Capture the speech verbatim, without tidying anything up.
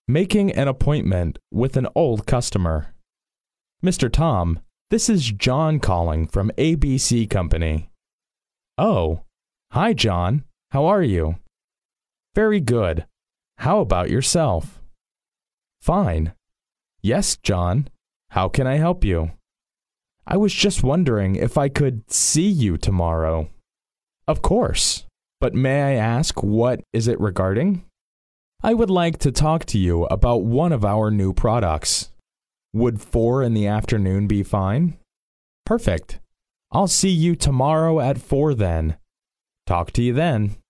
Making an appointment with an old customer. Mister Tom, this is John calling from A B C Company. Oh, hi John, how are you? Very good. How about yourself? Fine. Yes, John, how can I help you? I was just wondering if I could see you tomorrow. Of course, but may I ask what is it regarding? I would like to talk to you about one of our new products. Would four in the afternoon be fine? Perfect. I'll see you tomorrow at four then. Talk to you then.